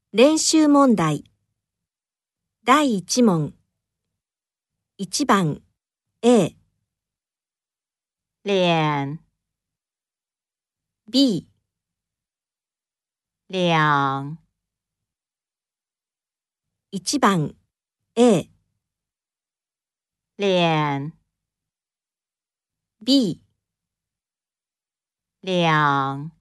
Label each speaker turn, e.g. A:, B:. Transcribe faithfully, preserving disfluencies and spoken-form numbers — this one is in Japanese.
A: 練習問題だいいち問いち番 A、
B: 脸、
A: B、
B: 两、
A: いち番 A、
B: 脸、
A: B、
B: 两。